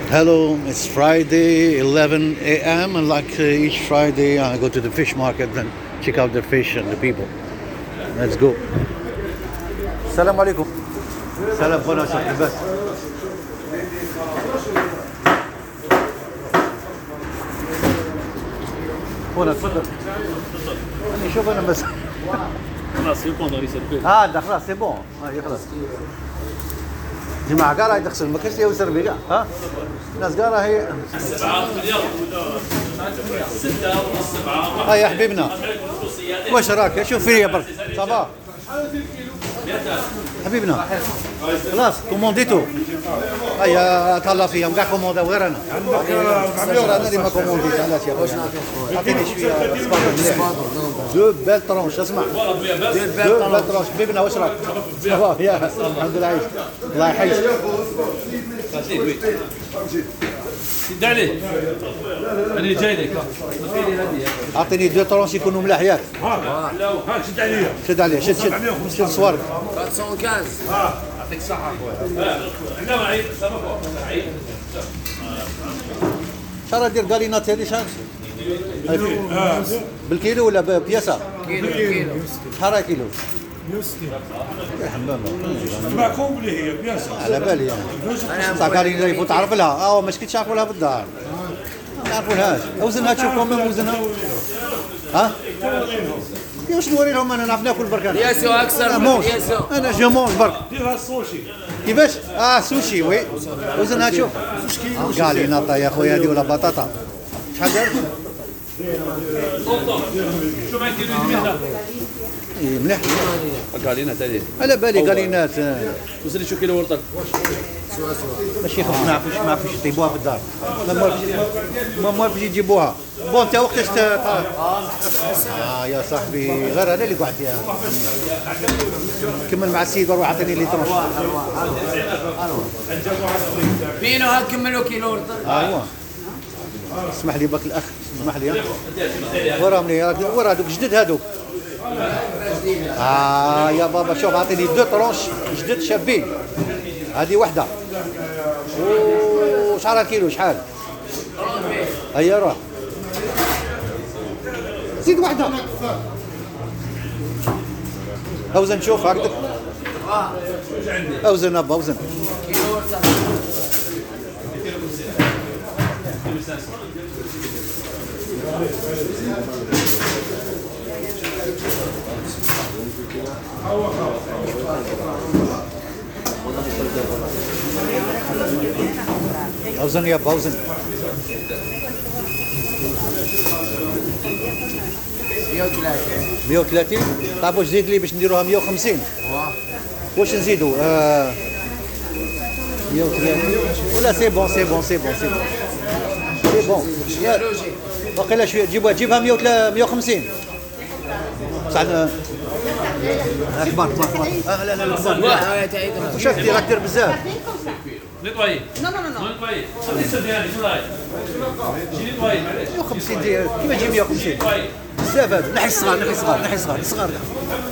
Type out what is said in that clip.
Hello, it's Friday, 11 a.m. and like each Friday I go to the fish market and check out the fish and the people. Let's go. Salam alaikum. Salam بنا شيخ بس. هنا تفضل. أنا شوف أنا بس. خلاص يكون ضروري يسربي. ده خلاص c'est bon. خلاص. جماعة قال راح يدخل ما كاش يوسر بي كاع ها الناس قال راهي 7 مليار 6 ونص 7 يا حبيبنا واش راك شوف فيا برك صافا حبيبنا خلاص كومونديتو هيا تهلا فيهم كاع كوموندا غير انا انا اللي ما كومونديت علاش يا خويا عطيني شويه صباط مليح دو بال طرونش اسمع دو بال طرونش حبيبنا واش راك صافا يا الحمد لله عايش الله يحييك سد عليه انا جاي لك اعطيني دو طرونش يكونوا ملاح ياك ها شد عليا شد عليه شد صوارك 415 يعطيك الصحة خويا احنا معي سبقوا معي شحال دير قالينات هذه شحال بالكيلو ولا ببياسه كيلو شحال كيلو 160 يا حمام ما كومبلي هي بيان سور على بالي يعني تاع قالينا يفوت تعرف لها ما شكيتش عرفوا لها بالدار ما عرفولهاش وزنها تشوفهم من وزنها ها واش نوري لهم انا نعرف ناكل برك انا ياسو اكثر من ياسو انا جو مونج برك ديرها السوشي كيفاش سوشي وي وزنها تشوف قالينا يا خويا هذه ولا بطاطا شحال دارت شوف معي كيلو المهنه مليح قالينا تاني على بالي قالينات وصل لي شو كيلو ورطك ماشي خف ما عرفوش يطيبوها في الدار ما موالفش يجيبوها بون انت وقتاش يا صاحبي غير انا اللي قعدت فيها كمل مع السيد وروح عطيني لي طرش بينو هكملوا كيلو ورطه ايوا اسمح لي باك الاخ اسمح لي وراهم لي ورا هذوك جدد هذوك يا بابا شوف عطيني دو طرونش جدد شابين هذه وحده وشحال الكيلو شحال هيا روح زيد وحده اوزن شوف هكذا اوزن ابا اوزن كيلو ورطه اوزن يا ابا اوزن 130 طيب واش زيد لي باش نديروها 150 واش نزيدوا 130 ولا سي بون سي بون سي بون سي بون سي بون باقي شويه جيبها 150 بصح كبار لا لا لا كبار واش راك دير بزاف نطوي Non, non, non, non. نطوي خلي سدياني شو رايك جي نطوي معليش 150 ديال كيما تجي 150 بزاف هذا نحي الصغار نحي الصغار نحي الصغار الصغار